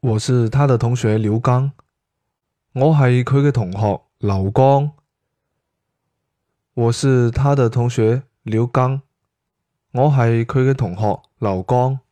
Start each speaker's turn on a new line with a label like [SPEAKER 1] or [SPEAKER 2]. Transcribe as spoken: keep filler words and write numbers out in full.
[SPEAKER 1] 我是他的同學廖剛，我係佢嘅同學劉剛。我是他的同學廖剛，我係佢嘅同學劉剛。